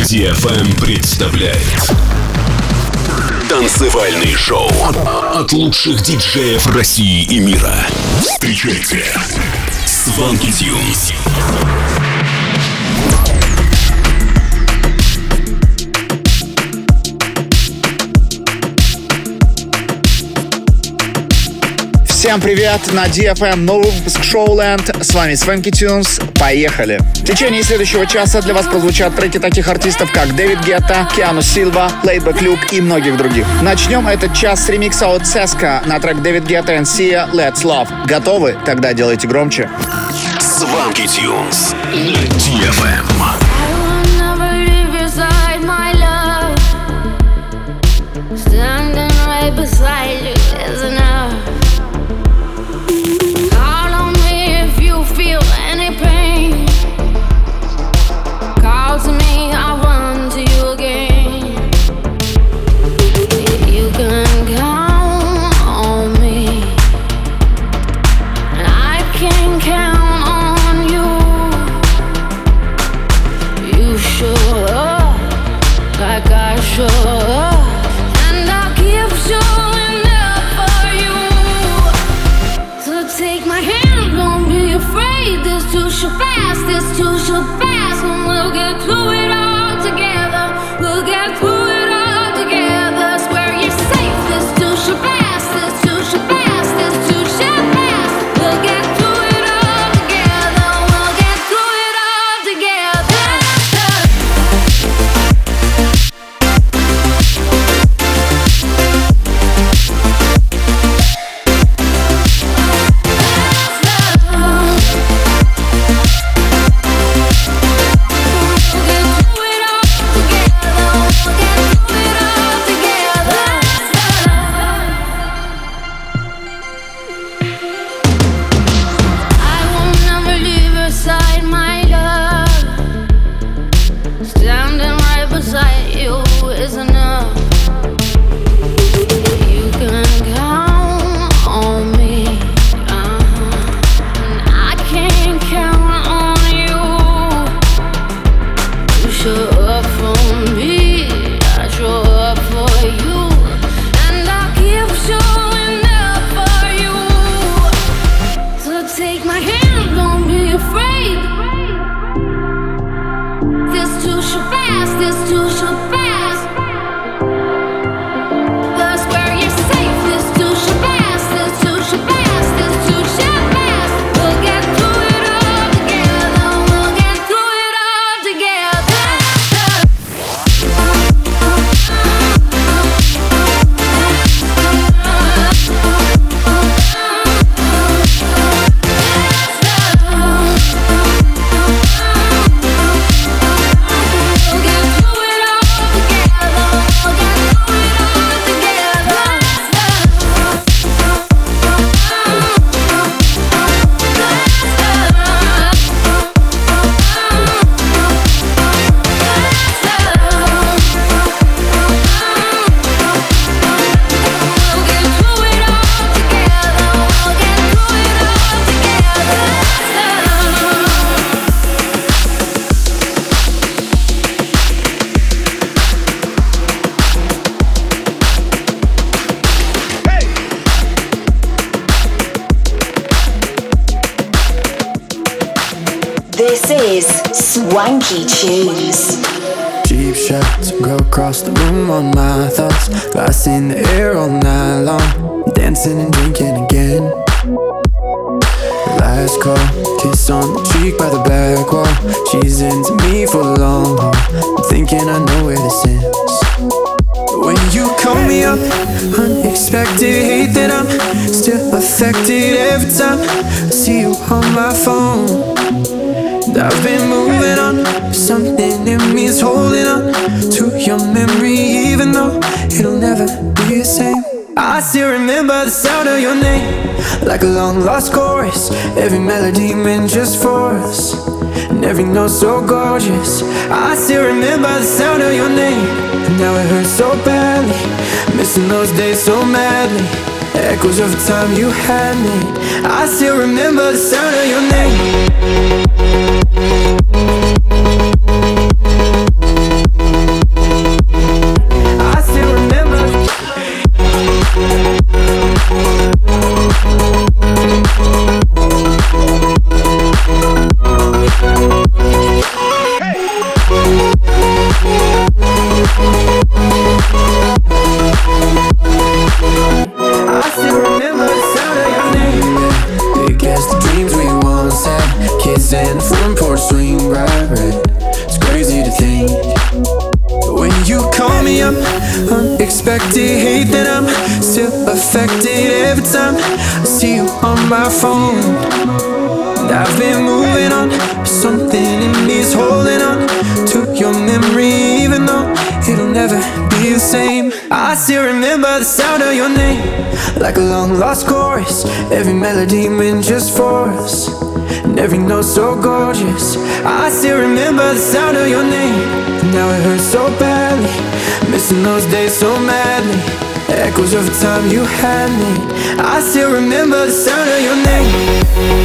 DFM представляет танцевальный шоу от лучших диджеев России и мира. Встречайте Swanky Tunes. Всем привет! На DFM новый выпуск Showland. С вами Swanky Tunes. Поехали! В течение следующего часа для вас прозвучат треки таких артистов, как Дэвид Гетта, Киану Сильва, Laidback Luke и многих других. Начнем этот час с ремикса от Seska на трек Дэвид Гетта и Sia Let's Love. Готовы? Тогда делайте громче. Swanky Tunes на DFM. Beside you is enough. Call on me if you feel any pain. Call to me, I'll run to you again. You can count on me, and I can count on you. You show up like I show up. Showing up for you. So take my hand, don't be afraid. This too shall pass, this too shall pass. And we'll get through it all together. We'll get through it all together. Swear you're safe, this too shall pass, this too shall pass, this too shall pass. We'll get through it all together. We'll get through it all together. This is Swanky Tunes. Cheap shots go across the room on my thoughts. Glass in the air all night long. Dancing and drinking again. Last call, kiss on the cheek by the back wall. She's into me for long haul. I'm thinking I know where this ends. When you call me up, unexpected, hate that I'm still affected every time I see you on my phone. And I've been moving on, something in me is holding on to your memory, even though it'll never be the same. I still remember the sound of your name, like a long lost chorus. Every melody meant just for us, and every note so gorgeous. I still remember the sound of your name, and now it hurts so badly. Missing those days so madly. Echoes of the time you had me. I still remember the sound of your name. front porch swing bright red. It's crazy to think when you call me up, unexpected hate that I'm still affected every time I see you on my phone. And I've been moving on, but something in me is holding on to your memory, even though it'll never be the same. I still remember the sound of your name, like a long lost chorus. Every melody meant just for us, and every note so gorgeous. I still remember the sound of your name, and now it hurts so badly, missing those days so madly. Echoes of the time you had me. I still remember the sound of your name.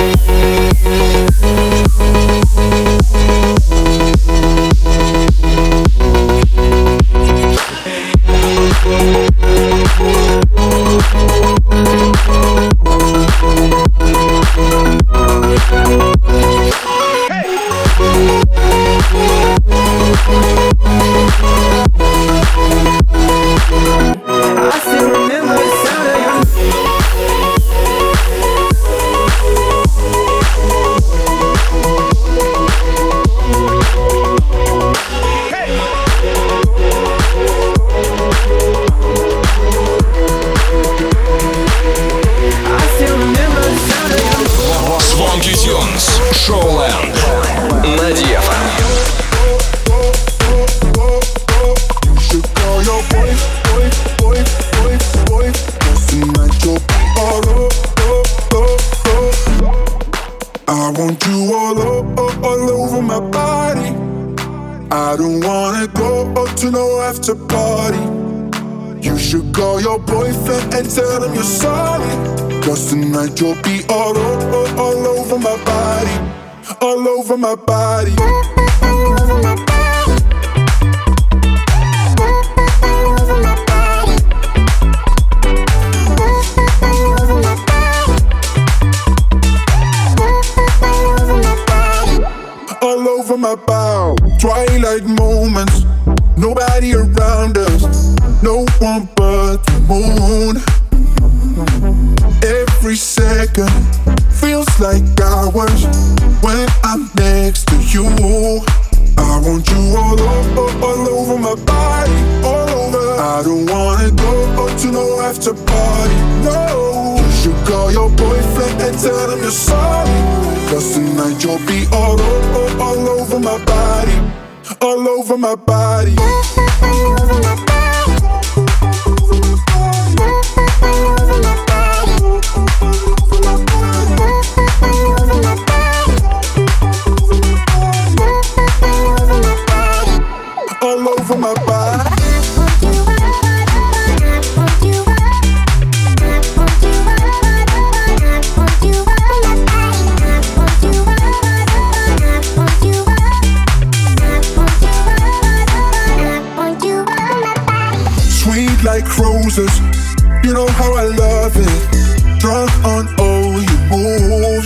Swanky Tunes, Showland на DFM. I want you all over my body. I don't wanna go to no after party. You should call your boyfriend and tell him you're sorry, 'cause tonight you'll be all over my body. All over my body. All over my bow. Twilight moments, nobody around us, no one but the moon. Every second feels like hours when I'm next to you. I want you all over my body, all over. I don't wanna go to no after party, no. You should call your boyfriend and tell him you're sorry, 'cause tonight you'll be all over my body. All over my body. All over my body. Sweet like roses, you know how I love it. Drunk on all your moves,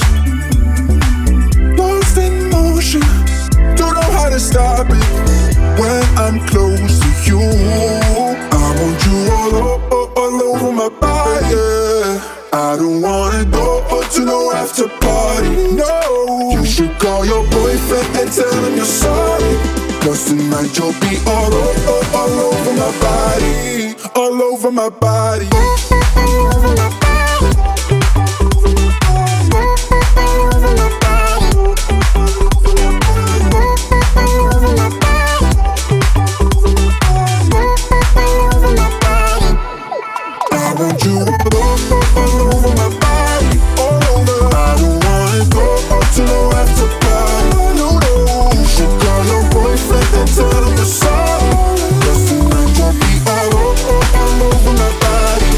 lost in motion, don't know how to stop it. When I'm close to you, I want you all over my body. Yeah. I don't wanna go to no after party, no. You should call your boyfriend and tell him you're sorry, 'cause tonight you'll be all over my body. All over my body. I want you all over my body, all over. I don't wanna go to no after party, no, no. You should call your boyfriend and tell him you're sorry, 'cause tonight you'll be all over my body.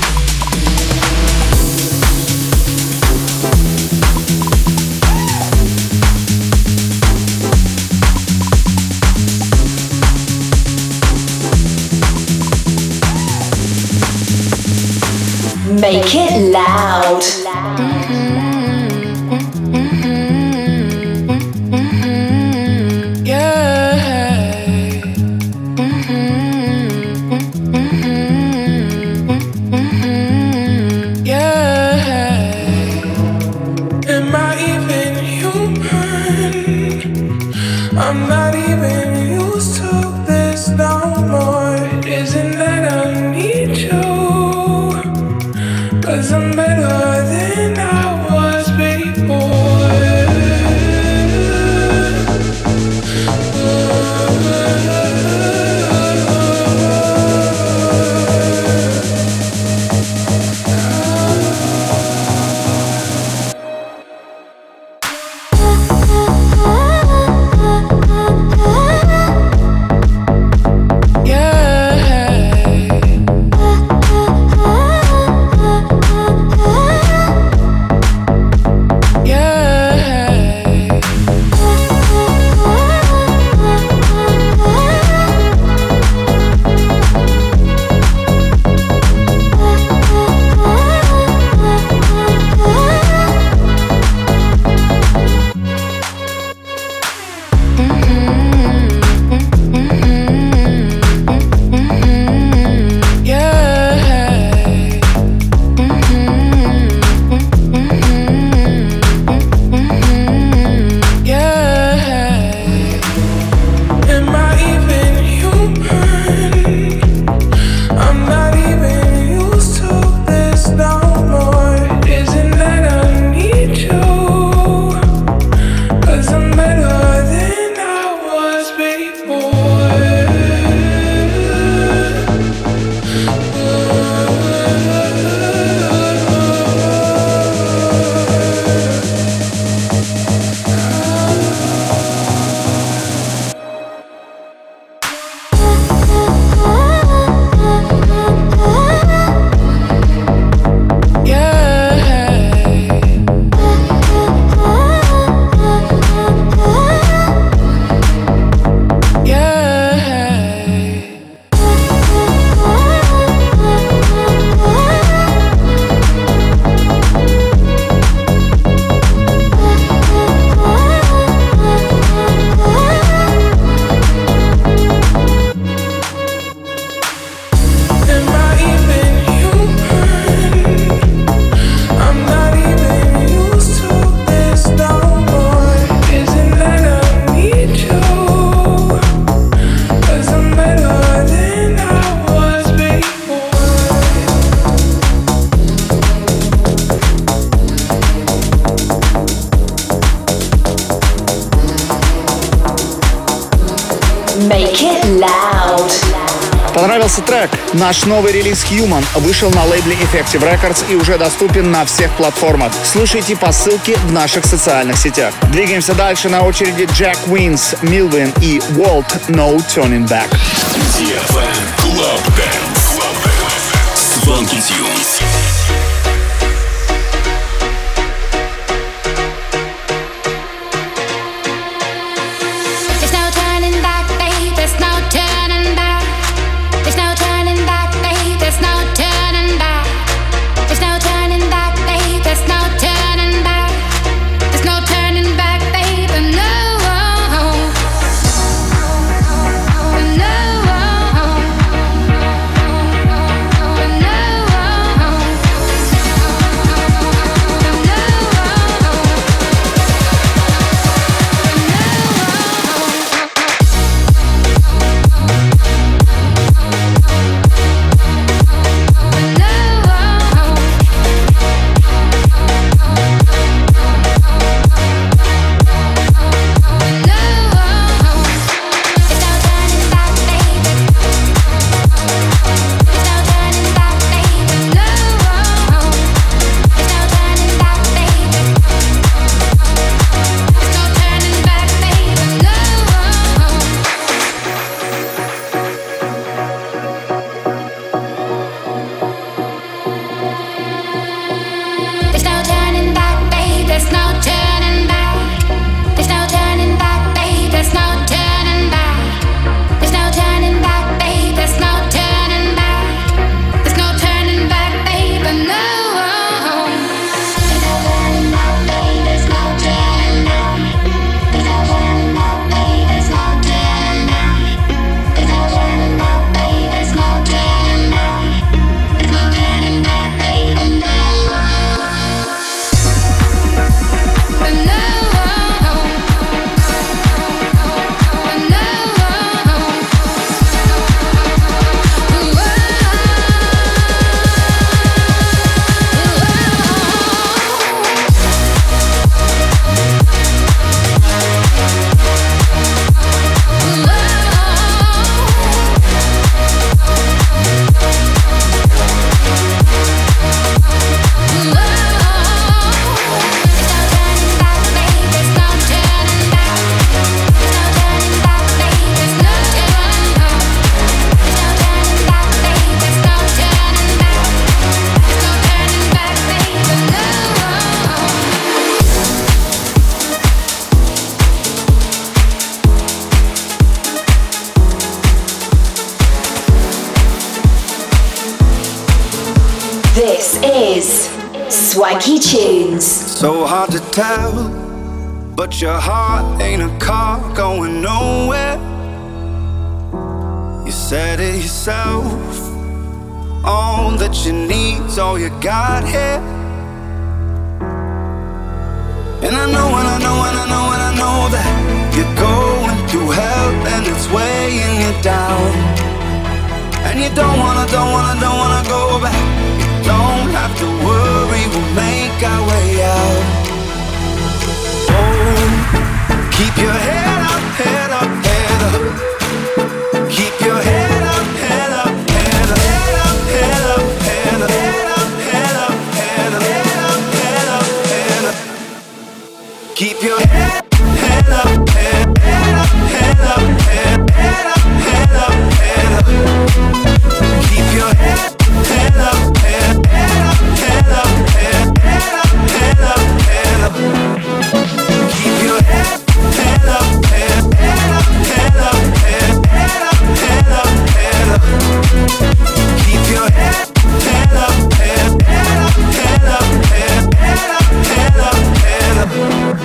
Make it loud. Am I even human? I'm not even used to this no more. Isn't that I need you? 'Cause I'm better than I was before. Make it loud. Понравился трек? Наш новый релиз Human вышел на лейбле Effective Records и уже доступен на всех платформах. Слушайте по ссылке в наших социальных сетях. Двигаемся дальше. На очереди Jack Wins, Milvin и Walt No Turning Back. DFM Club Dance. Swanky Tunes. No is Swanky Tunes. So hard to tell, but your heart ain't a car going nowhere. You said it yourself. All that you need's all you got here. And I know, and I know, and I know, and I know that you're going through hell and it's weighing you down. And you don't wanna go back. You don't have to worry, we'll make our way out. Oh, keep your head up, head up, head up. Keep your head up, head up, head up, head up, head up, head up, head up, head up, head up, head up, head up. Keep your head up, head up, head up, head up, head up, head up. Keep your head up, head up, head up, head up, head up, head up. Keep your head up, head up, head up, head up, head up, head up. Keep your head up, head up, head up, head up, head up.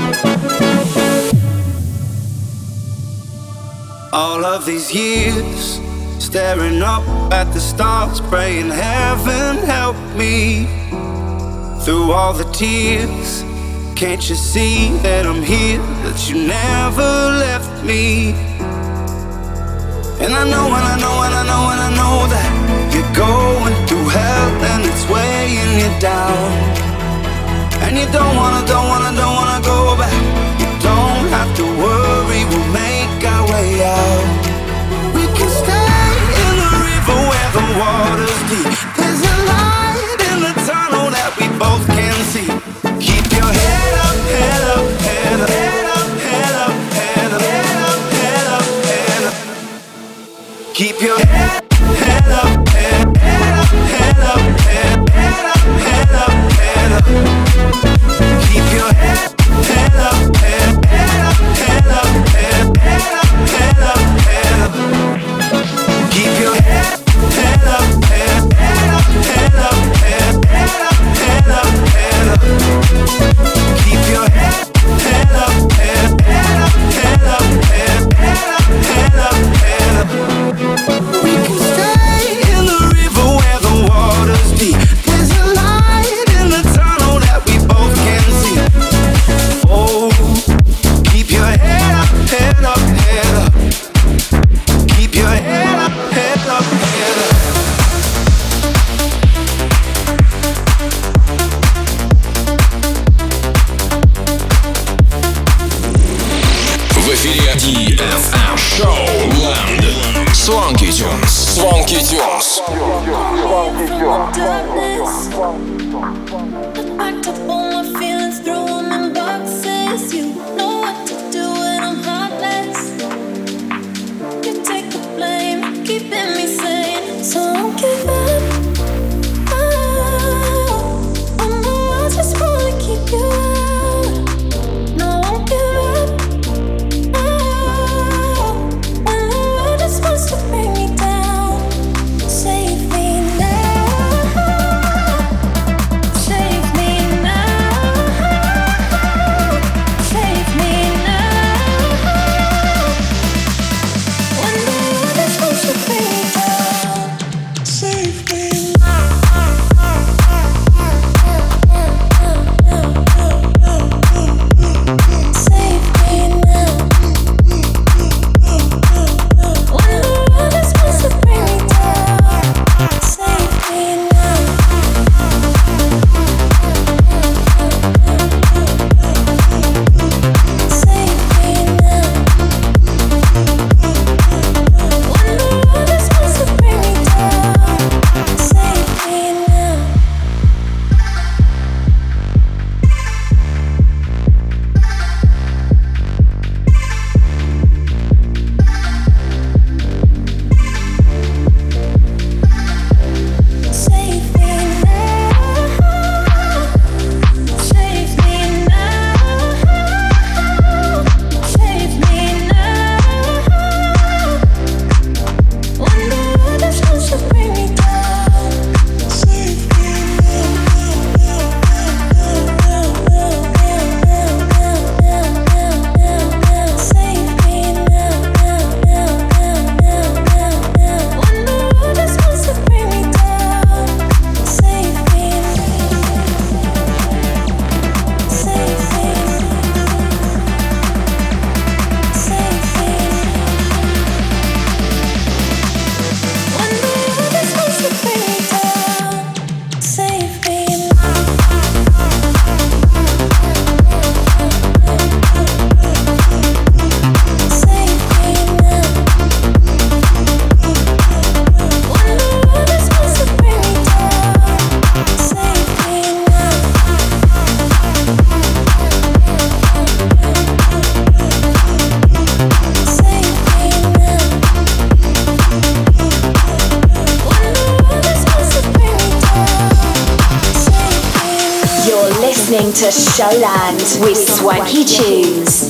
All of these years staring up at the stars, praying heaven help me. Through all the tears, can't you see that I'm here, that you never left me? And I know, and I know, and I know, and I know that you're going through hell and it's weighing you down. And you don't wanna go back. You don't have to worry, we'll make our way out. We can stay in the river where the water's deep. There's a light in the tunnel that we both can see. Keep your head up, head up, head up, head up, head up, head up, head up, head up. Keep your head up, head up, head up, head up, head up, head up. Keep your head up, head up, head up, head up, head up, head up. Keep your head up, head up, head up, head up, head up, head up. Keep your head up, head up, head up, head up, head up. We can stay in the river where the water's deep. There's a light in the tunnel that we both can see. Oh, keep your head up, head up, head up. Keep your head up, head up, head up. В эфире DFM Showland. Swanky Tunes. Swanky Tunes. Packed up all my feelings, throw them in boxes. You know what to do when I'm heartless. You take the blame, keeping me sane, so don't give up. Oh no, I just wanna keep you out. No, I won't give up. When the world just wants to bring me down, save me now. Save listening to Showland with Swanky Tunes.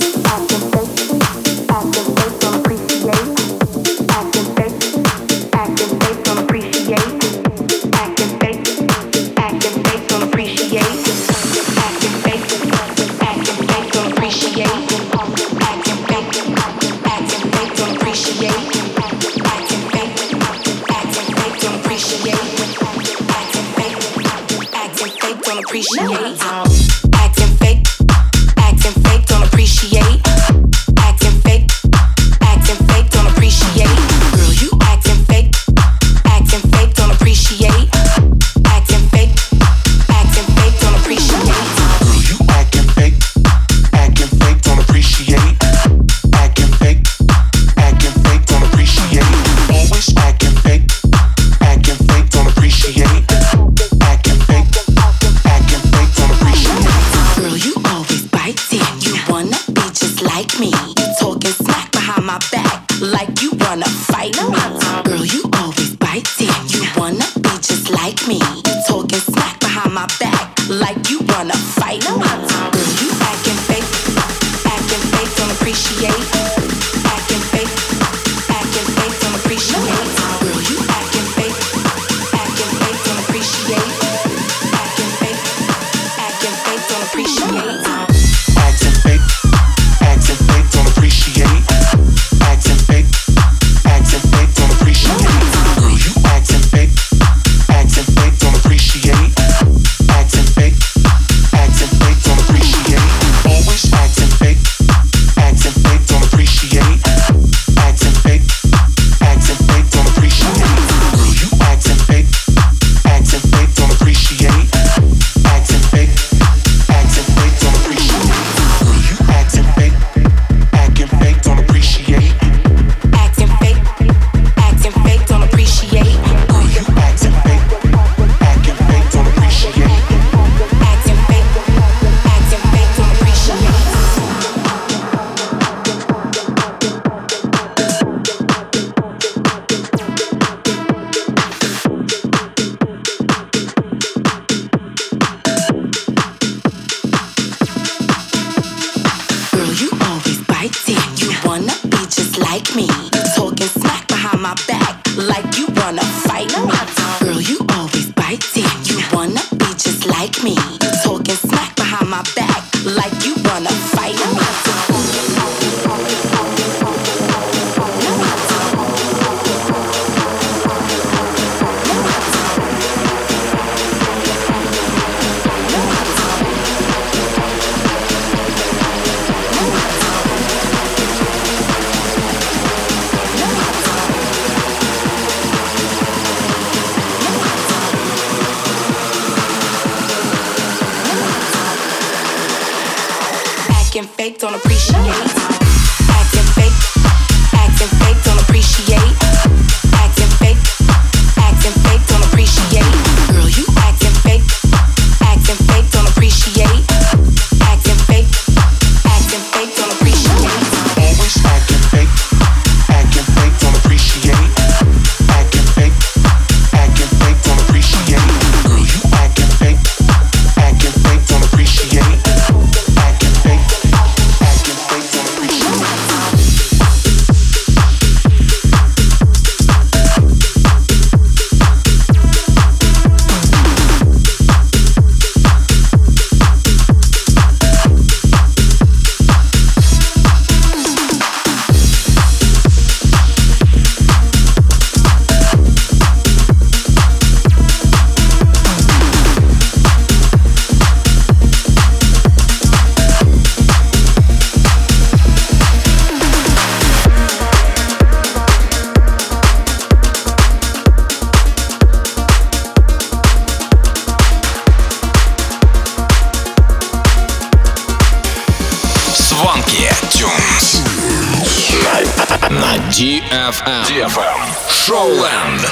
DFM Showland.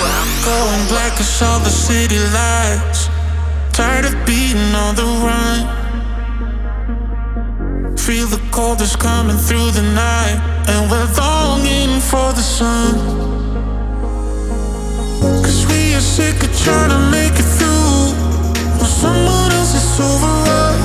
Going black 'cause all the city lights. Tired of being on the run. Feel the cold is coming through the night, and we're longing for the sun. 'Cause we are sick of trying to make it through when someone else is over us.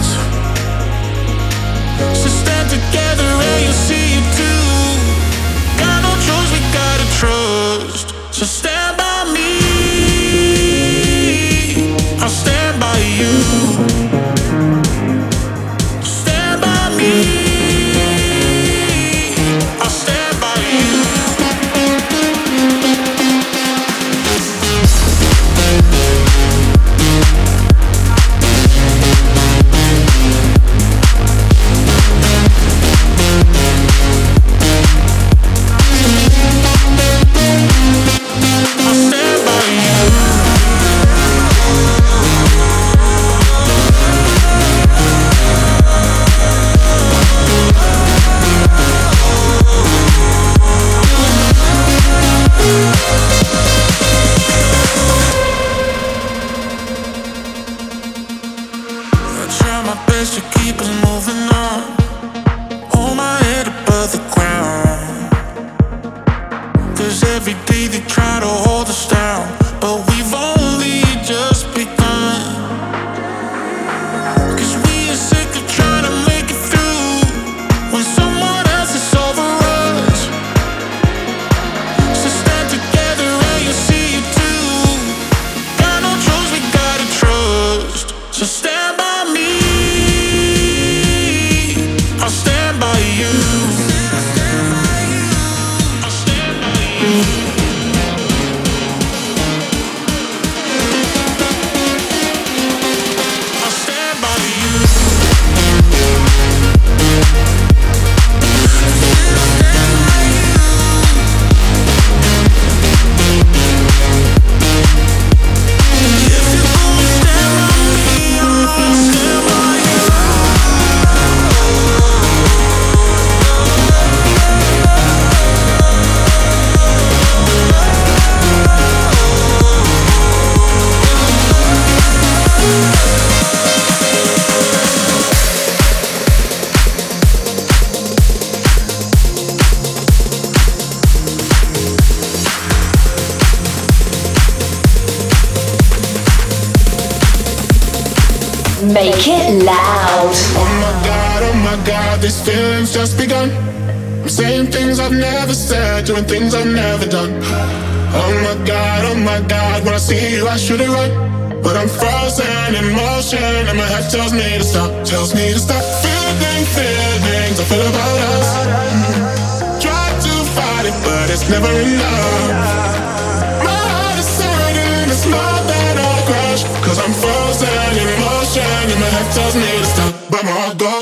Make it loud. Oh my God, these feelings just begun. I'm saying things I've never said, doing things I've never done. Oh my God, when I see you I should have run. But I'm frozen in motion and my head tells me to stop. Tells me to stop feelings I feel about us. Try to fight it, but it's never enough. My heart is hurting, it's more than a crush. Cause I'm frozen in motion and my head tells me to stop. But my heart goes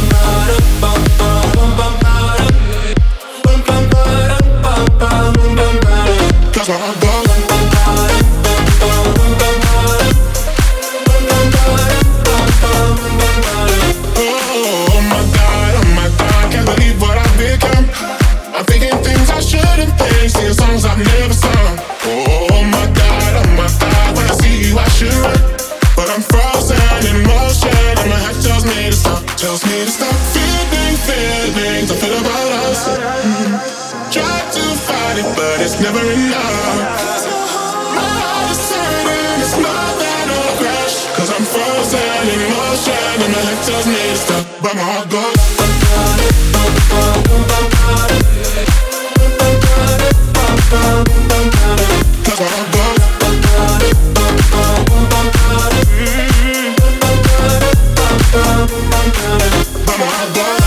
cause my heart goes. Oh my God, can't believe what I've become. I'm thinking things I shouldn't think, singing songs I've never sung. Oh my God, when I see you I should run. But I'm frozen in motion and my head tells me to stop. Tells me to stop feelings I feel about us. Try to fight it, but it's never enough. My heart is hurting, it's more than a crash. Cause I'm frozen in motion and my head tells me to stop. But my heart goes cause my heart goes. But my heart goes.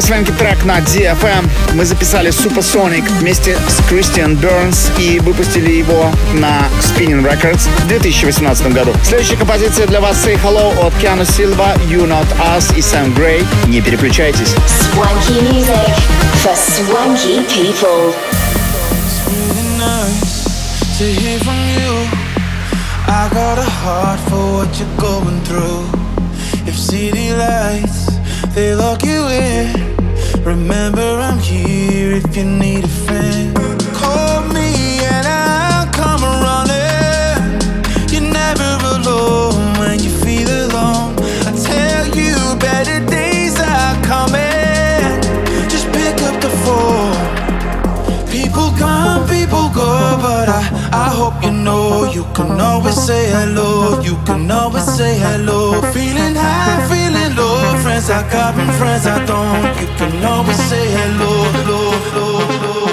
Свенки трек на DFM. Мы записали Supersonic вместе с Кристиан Бернс и выпустили его на Spinning Records в 2018 году. Следующая композиция для вас Say Hello от Keanu Silva, You Not Us и Sam Gray. Не переключайтесь. Swanky music for swanky people. It's really nice to hear from you. I got a heart for what you're going through. If city lights, they lock you in. Remember I'm here if you need a friend. Call me and I'll come running. You're never alone when you feel alone. I tell you better days are coming. Just pick up the phone. People come, people go, but I hope you know you can always say hello. You can always say hello. Feeling high, feeling low. Friends I got and friends I don't. You can always say hello, hello, hello, hello.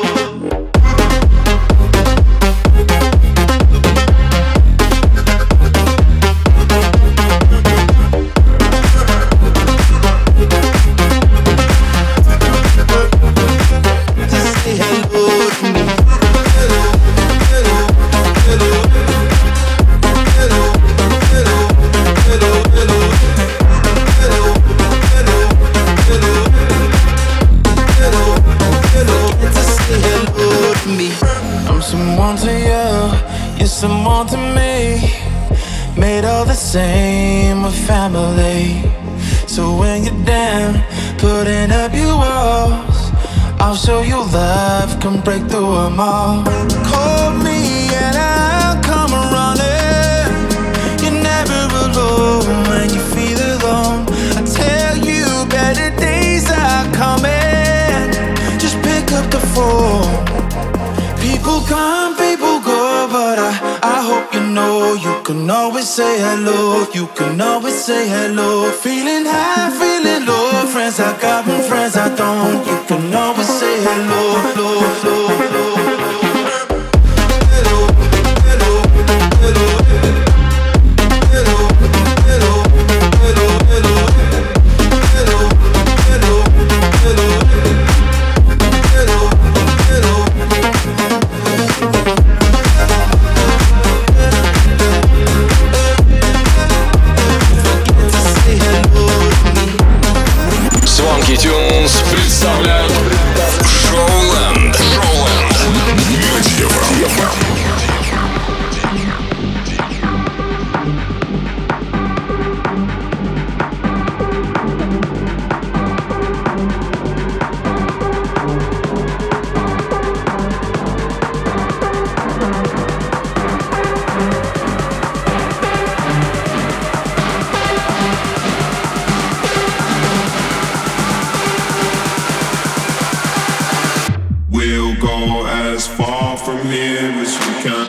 Someone to me, made all the same with family. So when you're down, putting up your walls, I'll show you love can break through them all. Call me and I'll come running. You're never alone when you feel alone. I tell you better days are coming. Just pick up the phone. People come, people go, but I hope you know you can always say hello. You can always say hello. Feeling high, feeling low. Friends I got and friends I don't. You can always say hello, hello, hello, hello. Представляют Showland. We'll go as far from here as we can.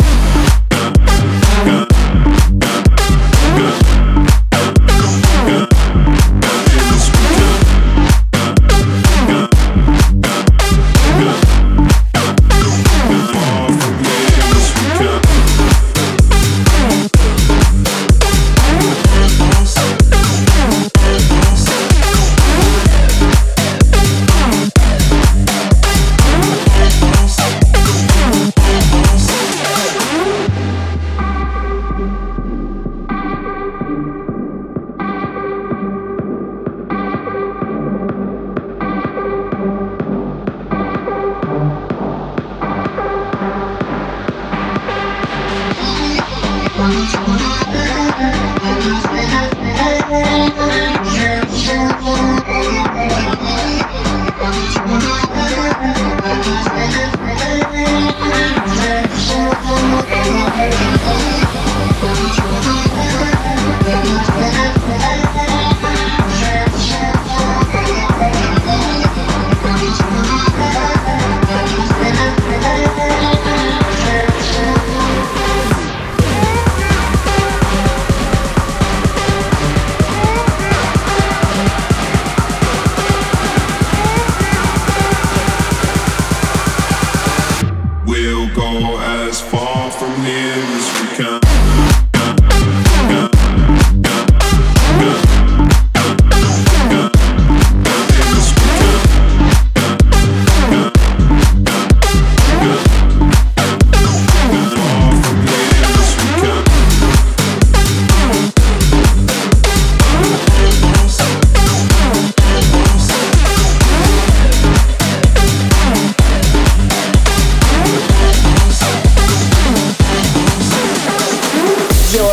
We'll go as far from here as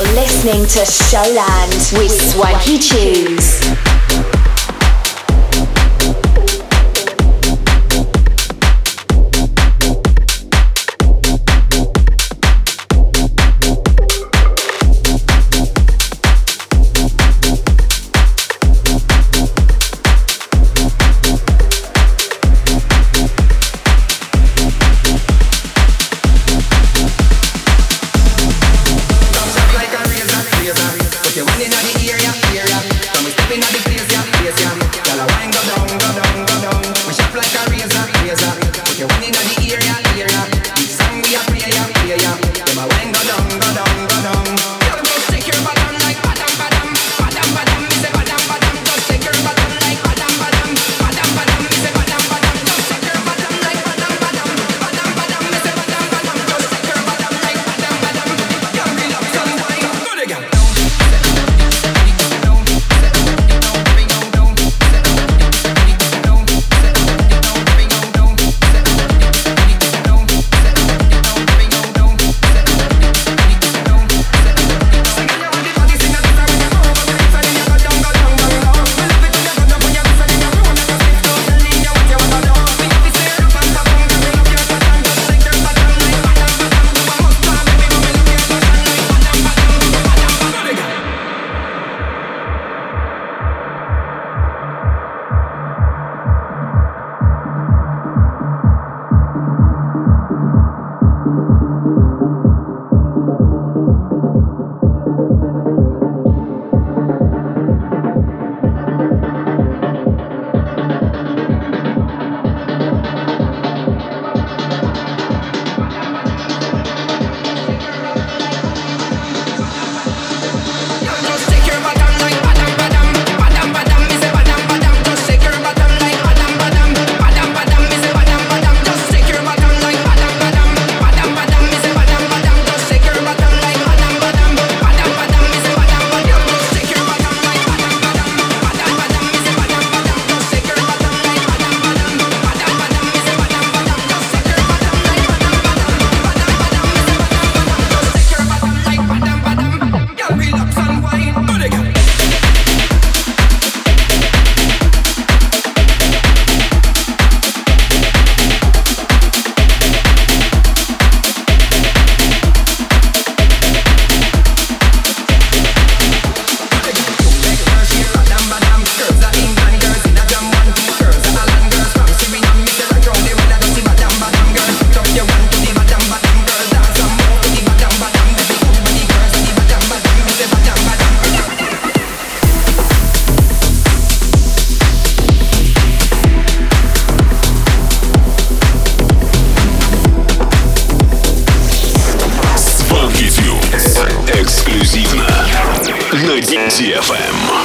You're listening to Showland with Swanky Tunes. Эксклюзивно на DFM.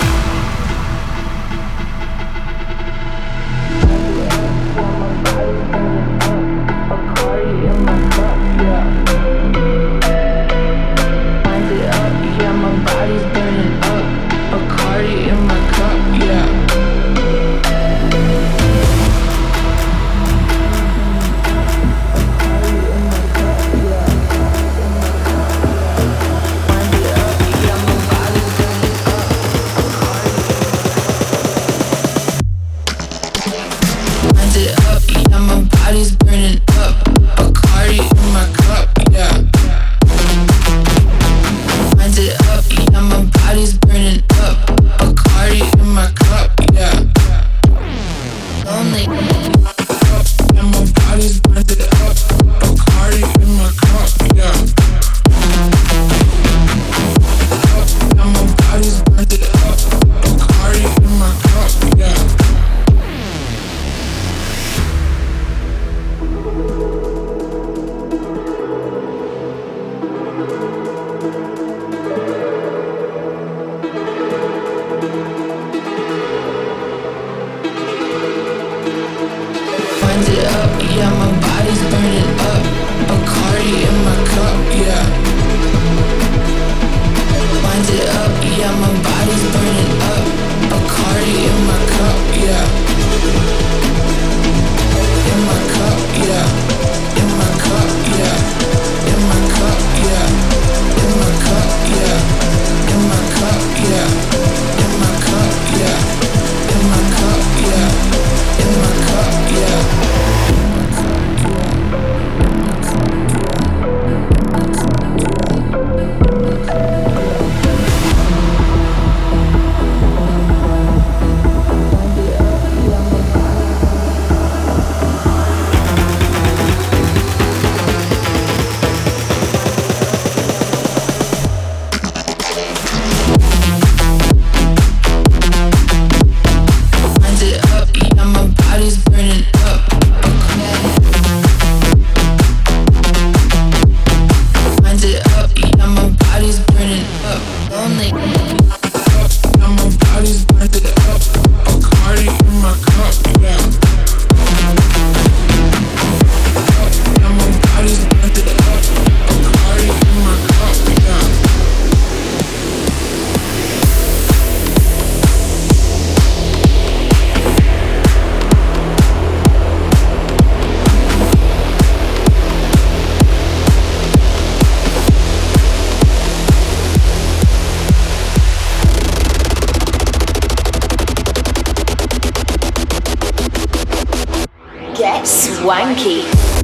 Yeah. Swanky.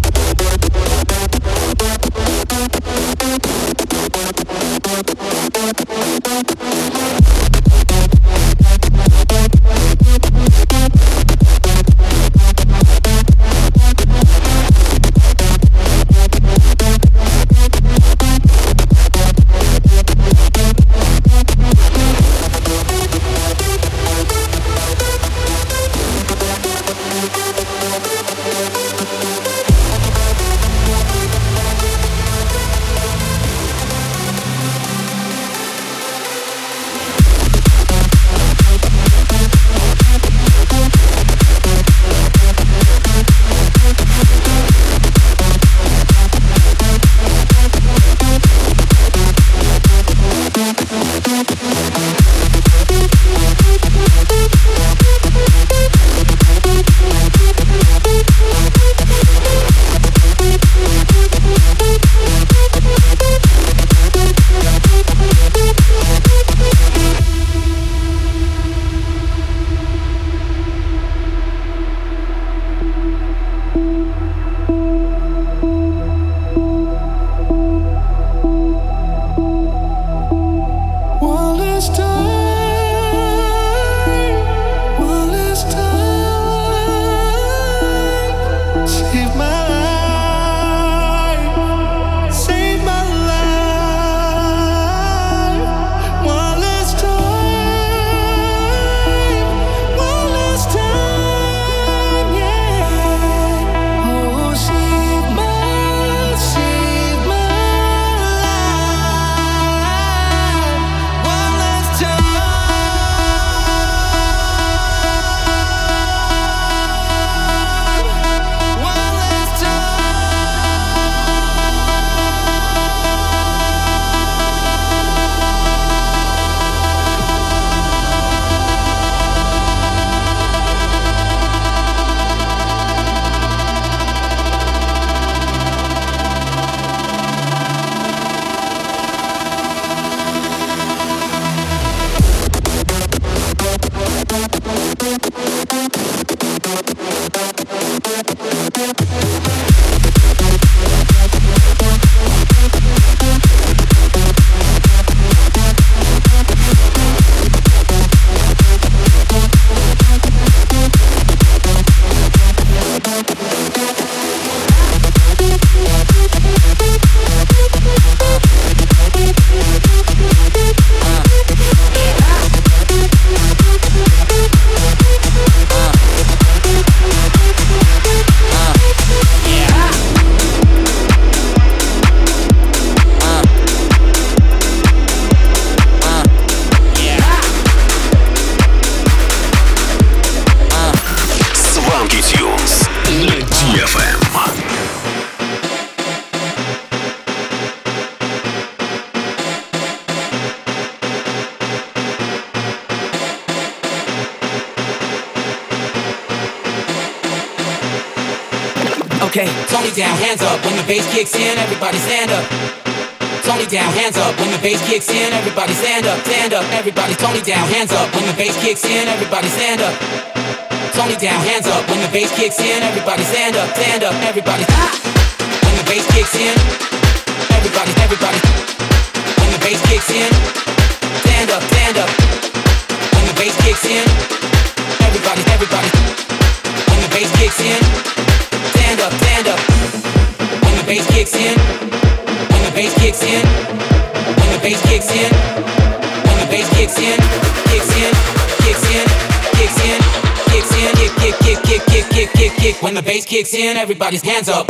Okay, Tony down, hands up. When the bass kicks in, everybody stand up. Tony down, hands up. When the bass kicks in, everybody stand up, stand up. Everybody, Tony down, hands up. When the bass kicks in, everybody stand up. Tony down, hands up. When the bass kicks in, everybody stand up, stand up. Everybody, when the bass kicks in, everybody. When the bass kicks in, stand up, stand up. When the bass kicks in, everybody. When the bass kicks in, stand up, stand up. When the bass kicks in, when the bass kicks in, when the bass kicks in, when bass kicks in, kicks in, kicks in, kicks in, kicks in, kick. When the bass kicks in, everybody's hands up.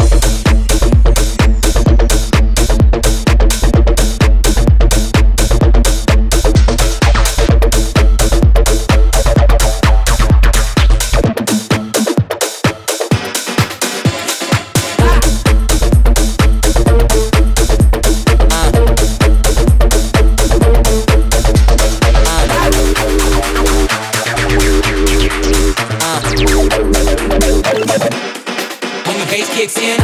Kicks in.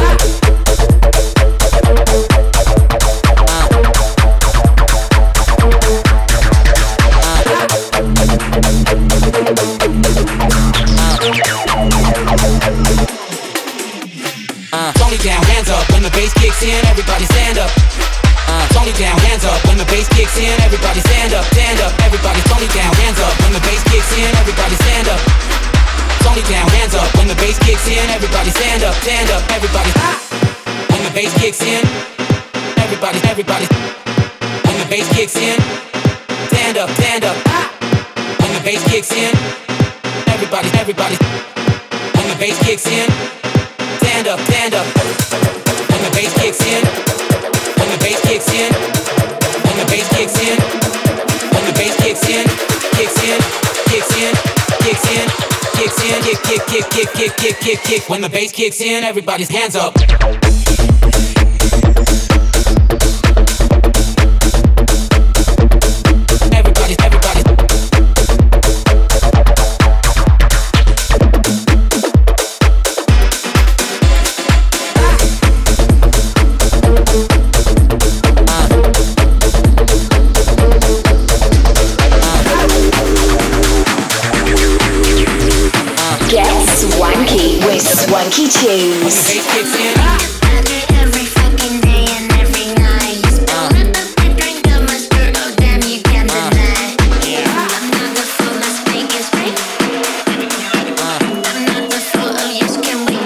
Tony down, hands up when the bass kicks in. Everybody stand up. Tony down, hands up when the bass kicks in. Everybody stand up, stand up. Everybody Tony down, hands up when the bass kicks in. Everybody stand up. Tony down, hands up when the bass kicks in. Everybody stand up, stand up. Everybody when the bass kicks in. Everybody when the bass kicks in. Stand up, stand up. When the bass kicks in. Everybody when the bass kicks in. Stand up, stand up. When the bass kicks in. When the bass kicks in. When the bass kicks in. When the bass kicks in. Kicks in, kicks in, kicks in. Kicks in, kick. When the bass kicks in, everybody's hands up. Swanky Tunes. Every fucking day and every night. Spill a drink of my skirt, oh damn, you can't deny. I'm not the fool, let's make it straight. I'm not the fool, oh yes, can we?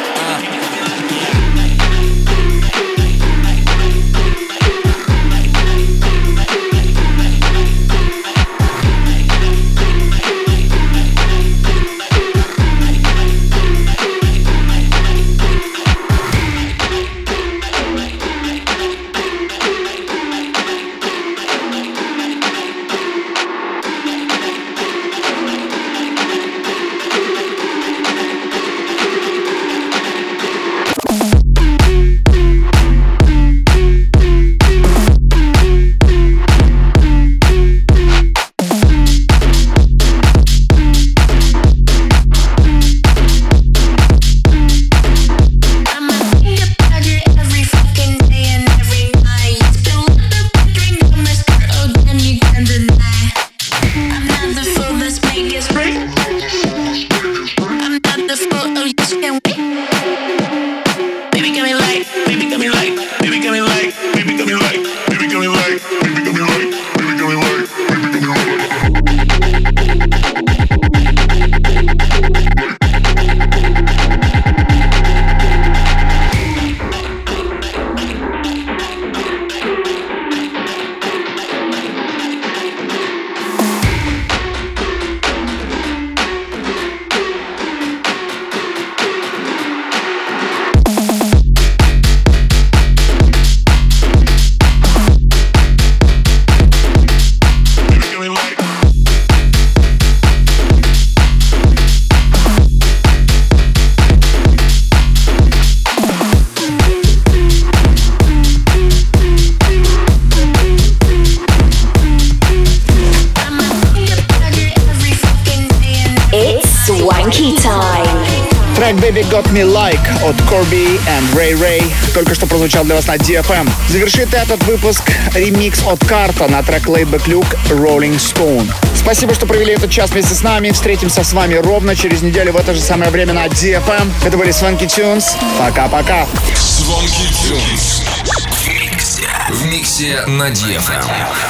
Трек Baby Got Me Like от Corby and Ray Ray только что прозвучал для вас на DFM. Завершит этот выпуск ремикс от Карта на трек Laidback Luke Rolling Stone. Спасибо, что провели этот час вместе с нами. Встретимся с вами ровно через неделю в это же самое время на DFM. Это были Swanky Tunes. Пока-пока. Swanky Tunes в миксе на DFM.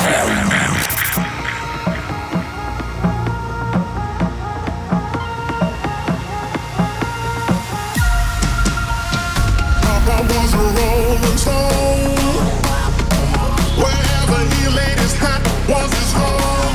Was a rolling stone. Wherever he laid his hat was his home.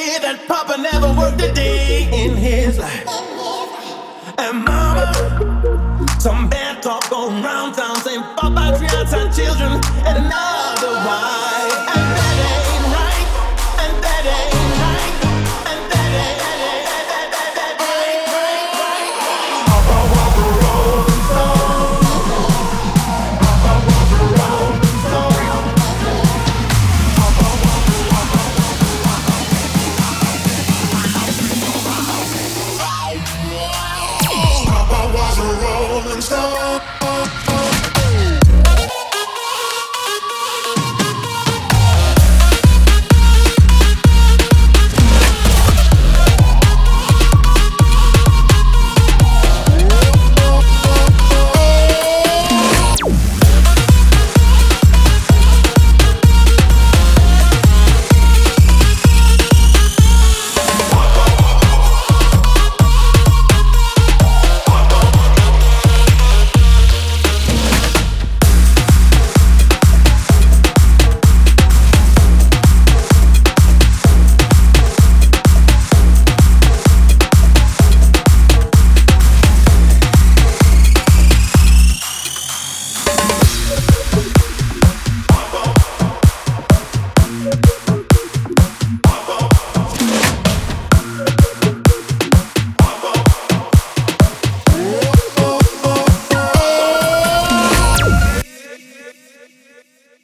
say that Papa never worked a day in his life. And Mama, some bad talk going round town saying Papa treats our children and another wife. And that ain't right. And that ain't right. And that ain't right. Papa was a rolling stone. Papa was a rolling stone. Papa was a rolling stone.